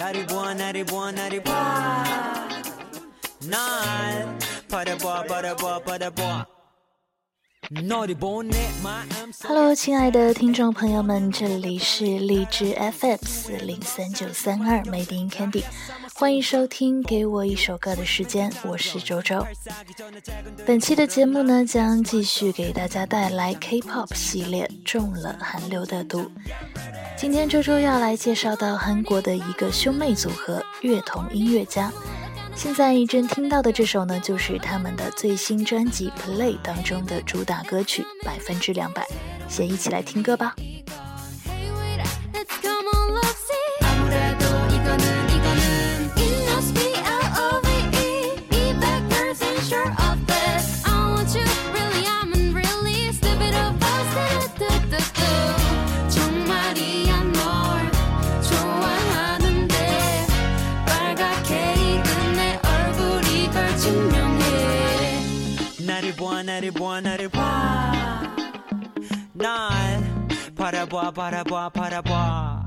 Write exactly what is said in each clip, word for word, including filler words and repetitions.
나를 보아 나를 보아 나를 보아 날 바라보아 바라보아 바라보아 Hello， 亲爱的听众朋友们，这里是荔枝 F M 四零三九三二 Made in Candy， 欢迎收听给我一首歌的时间，我是周周。本期的节目呢，将继续给大家带来 K-pop 系列中了韩流的毒。今天周周要来介绍到韩国的一个兄妹组合乐童音乐家。现在正听到的这首呢，就是他们的最新专辑 Play 当中的主打歌曲百分之两百，先一起来听歌吧。 나를 보아 나를 보아 날 바라보아 바라보아 바라보아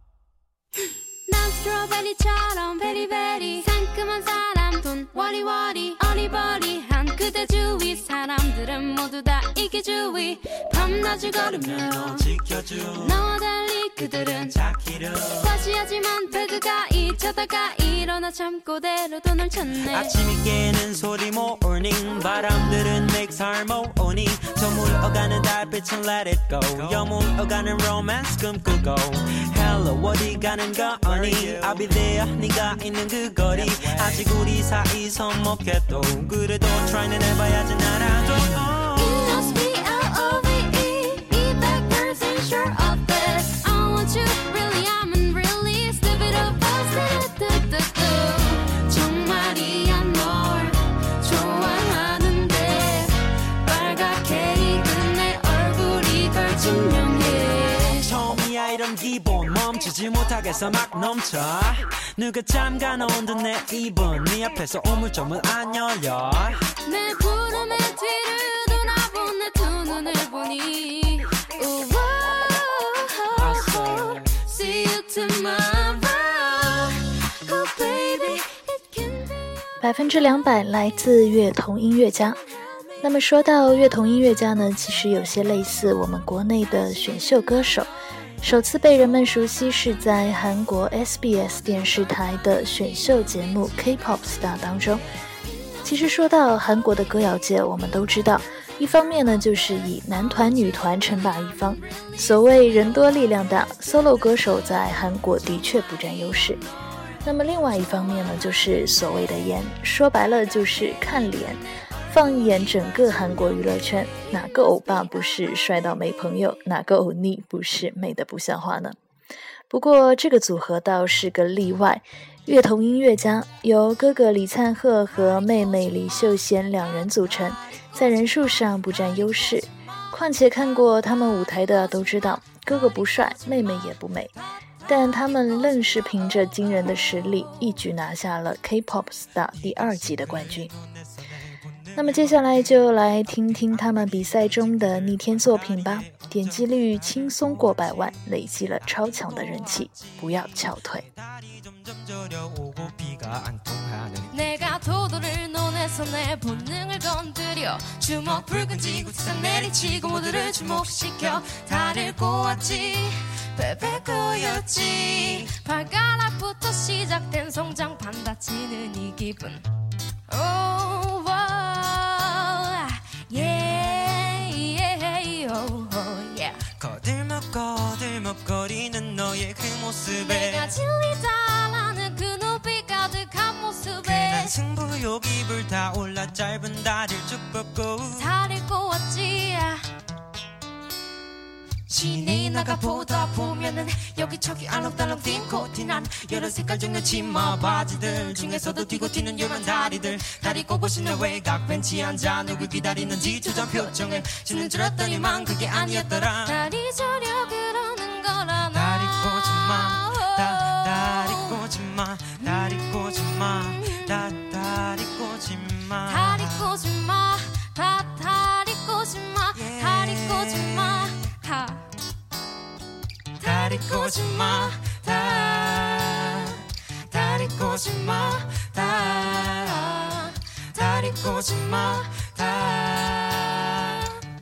난 스트로베리처럼 베리베리 상큼한 사람 돈 워리워리 어리버리한 그대 주위 사람들은 모두 다 이게 주위 밤낮을 걸으며 너 지켜줘 너와 달리 그들은 자기를 과시하지만 배드가 잊혀다가 일어나 잠꼬대로도 널 찾네 아침이 깨는 소리 모닝 바람들은 makes harmony 저 물어가는 달빛은 let it go 여물어가는 romance 꿈꾸고 hello 어디 가는 거니 I'll be there 네가 있는 그 거리 아직 우리 사이 서먹해도 그래도 try는 해봐야지 나라도 It must be L-O-V-E Be back person sure of this I want you really I'm really stupid of us 정말이야 널 좋아하는데 빨갛게 익은 내 얼굴이 덜 증명해 처음이야 이런 기분 멈추지 못하겠어 막 넘쳐 누가 잠가놓은 듯 내 입은 네 앞에서 우물점은 안 열려 내 구름의 뒤를 돌아본 내 두 눈을 보니 우와 See you tomorrow Oh baby it can be 百分之两百来自乐童音乐家。那么说到乐童音乐家呢，其实有些类似我们国内的选秀歌手，首次被人们熟悉是在韩国 S B S 电视台的选秀节目 K-pop Star 当中。其实说到韩国的歌谣界，我们都知道，一方面呢就是以男团女团称霸一方，所谓人多力量大 ，solo 歌手在韩国的确不占优势。那么另外一方面呢，就是所谓的颜，说白了就是看脸。放一眼整个韩国娱乐圈，哪个欧巴不是帅到没朋友，哪个欧尼不是美得不像话呢？不过这个组合倒是个例外，乐童音乐家由哥哥李灿赫和妹妹李秀贤两人组成，在人数上不占优势。况且看过他们舞台的都知道，哥哥不帅，妹妹也不美，但他们愣是凭着惊人的实力，一举拿下了 K-pop Star 第二季的冠军。那么接下来就来听听他们比赛中的逆天作品吧，点击率轻松过百万，累积了超强的人气，不要翘腿。 내가 도도를 논해서 내 본능을 건드려 주먹 붉은 지구상 내리치고 모두를 주목시켜 달을 꼬았지 베베꼬였지 발가락부터 시작된 성장 반다치는 이 기분 oh, wow, yeah, yeah, oh, oh, yeah. 거들먹 거들먹거리는 너의 그 모습에 내가 진리다라는 그 눈빛 가득한 모습에 괜한 승부욕이 불타올라 짧은 다리를 쭉 뻗고 다리를 꼬았지 신이 나가 보다 보면은 여기저기 알록달록 뛴 코티 난 여러 색깔 종류 치마 바지들 중에서도 뛰고 튀는 요란 다리들 다리 꼬고 신는 외곽 벤치 앉아 누굴 기다리는지 조장 표정을 주는 줄 알았더니만 그게 아니었더라 다리 저려 그러는 거라 다리 꼬지마 다, 다리 꼬지마 다리 꼬지마 다, 다리 꼬지마 다리 꼬지마 다 다리 꼬지마 다리 꼬지마 다 다리 꼬지마 다 오지 마 다 데리고 오지 마 다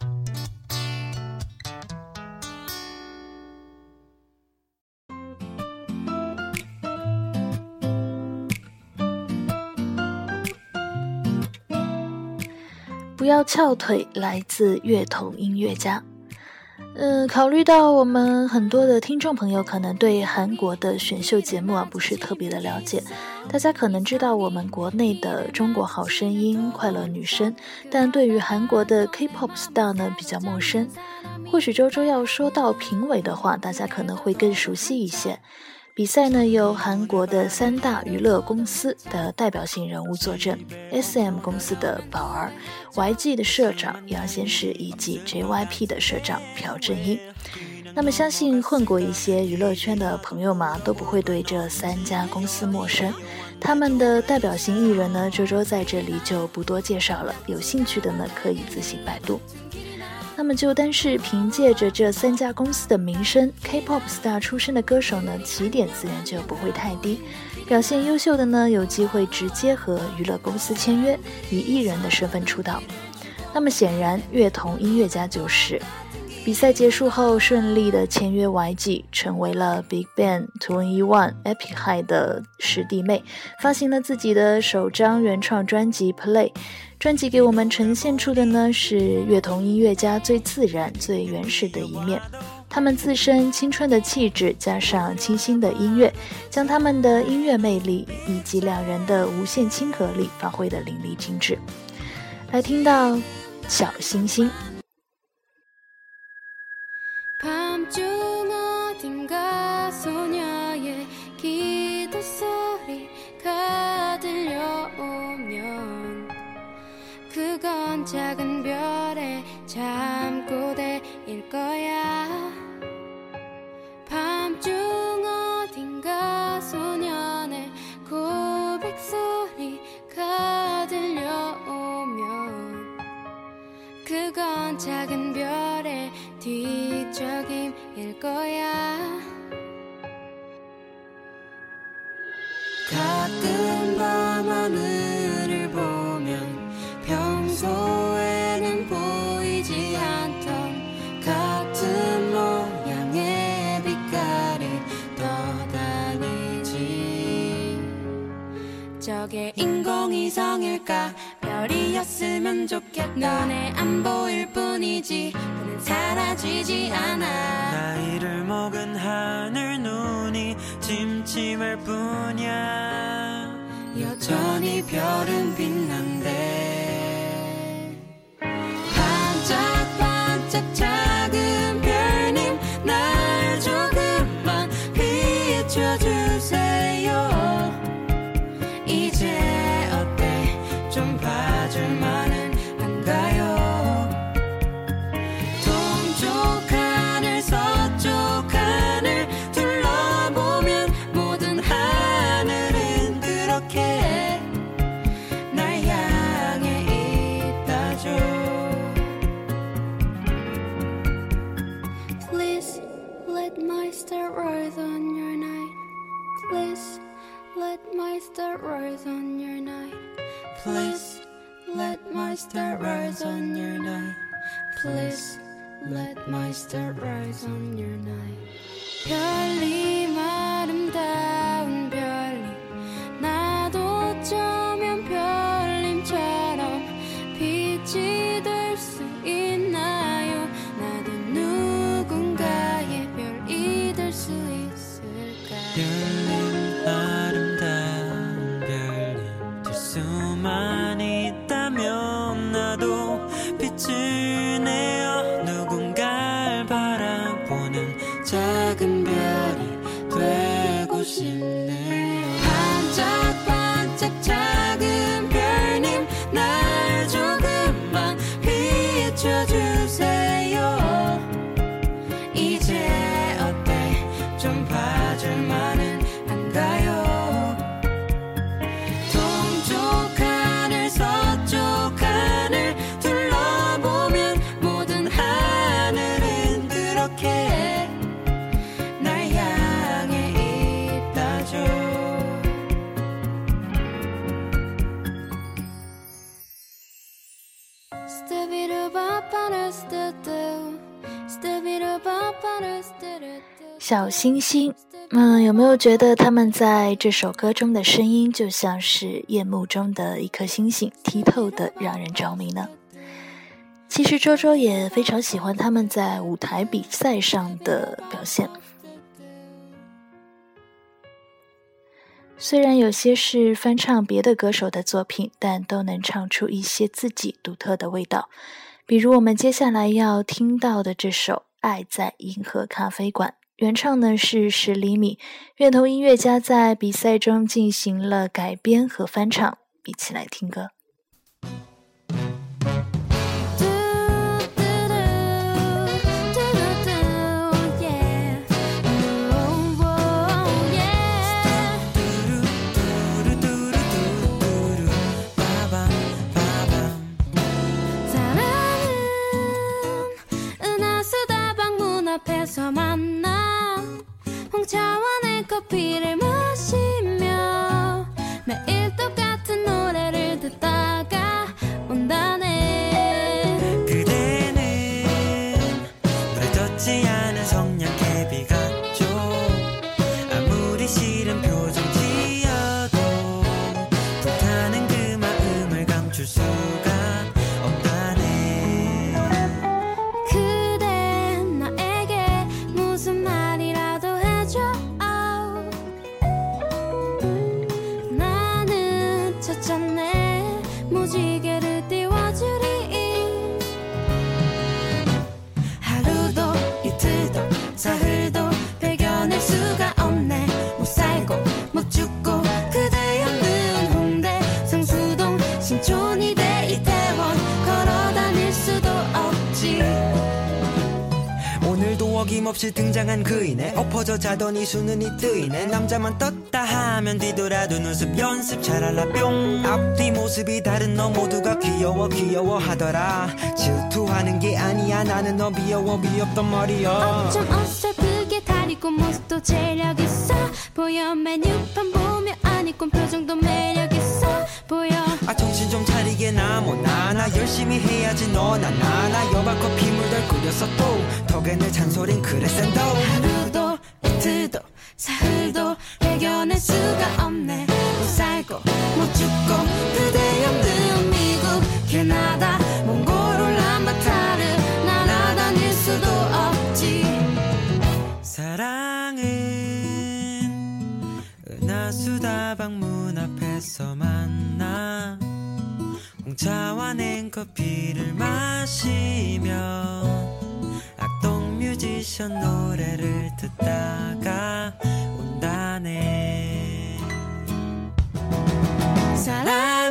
不要翘腿，来自乐童音乐家。呃，考虑到我们很多的听众朋友可能对韩国的选秀节目啊不是特别的了解，大家可能知道我们国内的中国好声音、快乐女声，但对于韩国的 K-pop star 呢比较陌生。或许周周要说到评委的话，大家可能会更熟悉一些。比赛呢由韩国的三大娱乐公司的代表性人物坐镇 ，S M 公司的宝儿、Y G 的社长杨贤士以及 J Y P 的社长朴正英。那么相信混过一些娱乐圈的朋友嘛，都不会对这三家公司陌生。他们的代表性艺人呢，周周在这里就不多介绍了，有兴趣的呢可以自行百度。那么就单是凭借着这三家公司的名声 ，K-pop star 出身的歌手呢，起点自然就不会太低。表现优秀的呢，有机会直接和娱乐公司签约，以艺人的身份出道。那么显然，乐童音乐家就是。比赛结束后，顺利的签约 Y G， 成为了 BigBang、two N E One、Epic High 的师弟妹，发行了自己的首张原创专辑 Play。专辑给我们呈现出的呢是乐童音乐家最自然、最原始的一面。他们自身青春的气质，加上清新的音乐，将他们的音乐魅力以及两人的无限亲和力发挥得淋漓尽致。来听到小星星。 밤중 어딘가 소녀의 기도 소리가 들려오면 그건 작은 별의 잠꼬대일 거야. 밤중 어딘가 소년의 고백 소리가 들려오면 그건 작은 별의 뒤적임일 거야. 가끔 밤하늘을 보면 평소에는 보이지 않던 같은 모양의 빛깔이 떠다니지. 저게 인공위성일까? 별이었으면 좋겠다. 눈에 안 보일 뿐이지 그는 사라지지 않아. 나이를 먹은 하늘 눈이 침침할 뿐이야. 여전히 별은 빛난대. 반짝반짝 작은 별님 날 조금만 비춰주세요. 이제 어때 좀 봐줄만은 한가요. 동쪽 하늘 서쪽 하늘 둘러보면 모든 하늘은 그렇게 날 향해 있다죠. Please let my star rise on your night. Please let my star rise on your night. Please let my star rise on your night. Please let my star rise on your night. 별님 아름다운 별님 나도 어쩌면 별님처럼 빛이 될 수 있나요? 나도 누군가의 별이 될 수 있을까? 별님 아름다운 별님 될 수만 있다면 나도 빛을 내어 누군가를 바라보는 작은 별이 되고 싶네요. 반짝반짝 작은 별님 날 조금만 비춰주세요. 이제 어때 좀 봐줄만은 한가요. 동쪽 하늘 서쪽 하늘 둘러보면 모든 하늘은 그렇게 날 향해 있다죠. 小星星，嗯，有没有觉得他们在这首歌中的声音就像是夜幕中的一颗星星，剔透的让人着迷呢？其实周周也非常喜欢他们在舞台比赛上的表现，虽然有些是翻唱别的歌手的作品，但都能唱出一些自己独特的味道。比如我们接下来要听到的这首《爱在银河咖啡馆》，原唱呢是十厘米，乐童音乐家在比赛中进行了改编和翻唱，一起来听歌。 어김없이 등장한 그이네 엎어져 자더니 수는이 뜨이네 남자만 떴다 하면 뒤돌아도 눈썹 연습 잘할라 뿅 앞뒤 모습이 다른 너 모두가 귀여워 귀여워하더라 질투하는 게 아니야 나는 너 미워워 미웠단 말이야 어쩜 어설프게 다리고 모습도 재력있어 보여 메뉴판 보며 아니꾼 표정도 매력있어 보여 아 정신 좀 차리게 나뭐나 나 열심히 해야지 너나 나나 여바 커피 물들 끓였어 또 덕에 내 잔소린 그래 센도 하루도 이틀도 사흘도 배겨낼 수가 없네 못 살고 못 죽고 그대 없는 미국 캐나다 몽골 울란바타르 날아다닐 수도 없지 사랑은 은하수다방 문 앞에서 만나 홍차와 냉커피를 마시며 악동 뮤지션 노래를 듣다가 온다네 사랑은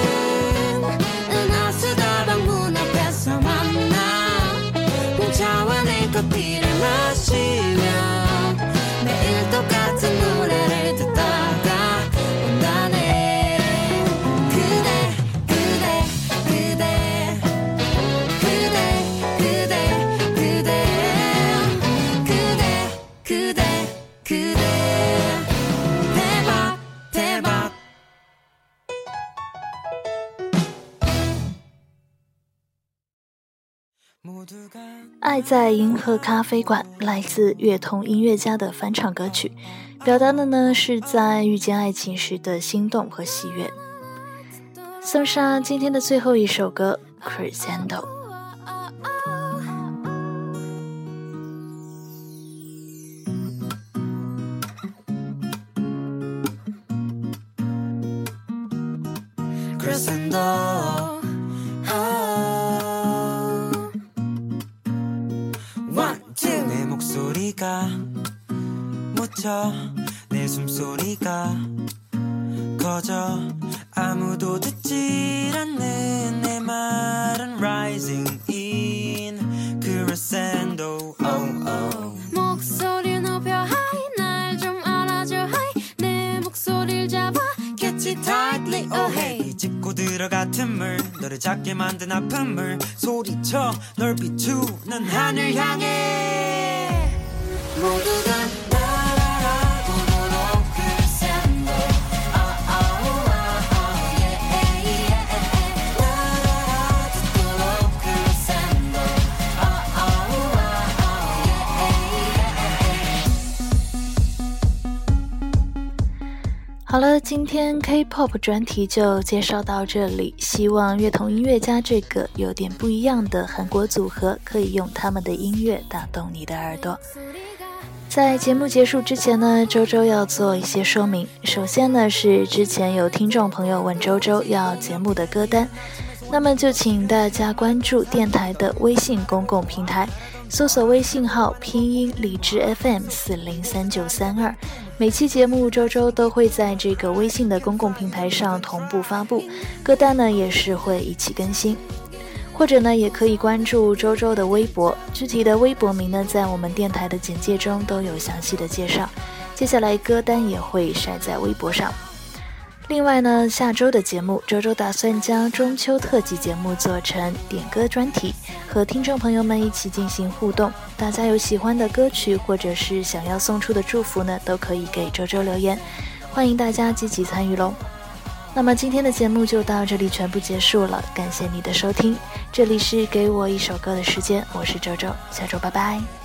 은하수다방 문 앞에서 만나 홍차와 냉커피를 마시며 매일 똑같은 노래를 듣다가 온다네 그대 그대 그대 그대 그대 그대 그대 그대 그대 대박 대박 爱在银河咖啡馆来自乐童音乐家的翻唱歌曲，表达的呢是在遇见爱情时的心动和喜悦。送上今天的最后一首歌 Crescendo。 Crescendo 내 목소리가 묻혀 내 숨소리가 커져 아무도 듣질 않는 내 말은 rising in crescendo oh, oh. 목소리 높여 high 날 좀 알아줘 high 내 목소리를 잡아 catch it tightly oh hey 짚고 들어가 틈을 너를 작게 만든 아픔을 소리쳐 널 비추는 하늘 향해 모두가 따라라 부르러 crescendo oh oh oh oh yeah yeah 따라라 듣도록 crescendo oh oh oh oh yeah 好了，今天 K-pop 专题就介绍到这里，希望乐童音乐家这个有点不一样的韩国组合可以用他们的音乐打动你的耳朵。在节目结束之前呢，周周要做一些说明。首先呢，是之前有听众朋友问周周要节目的歌单，那么就请大家关注电台的微信公共平台，搜索微信号拼音荔枝 F M 四零三九三二，每期节目周周都会在这个微信的公共平台上同步发布，歌单呢也是会一起更新。或者呢，也可以关注周周的微博，具体的微博名呢，在我们电台的简介中都有详细的介绍。接下来歌单也会晒在微博上。另外呢，下周的节目，周周打算将中秋特辑节目做成点歌专题，和听众朋友们一起进行互动。大家有喜欢的歌曲，或者是想要送出的祝福呢，都可以给周周留言，欢迎大家积极参与喽。那么今天的节目就到这里全部结束了，感谢你的收听，这里是给我一首歌的时间，我是周周，下周拜拜。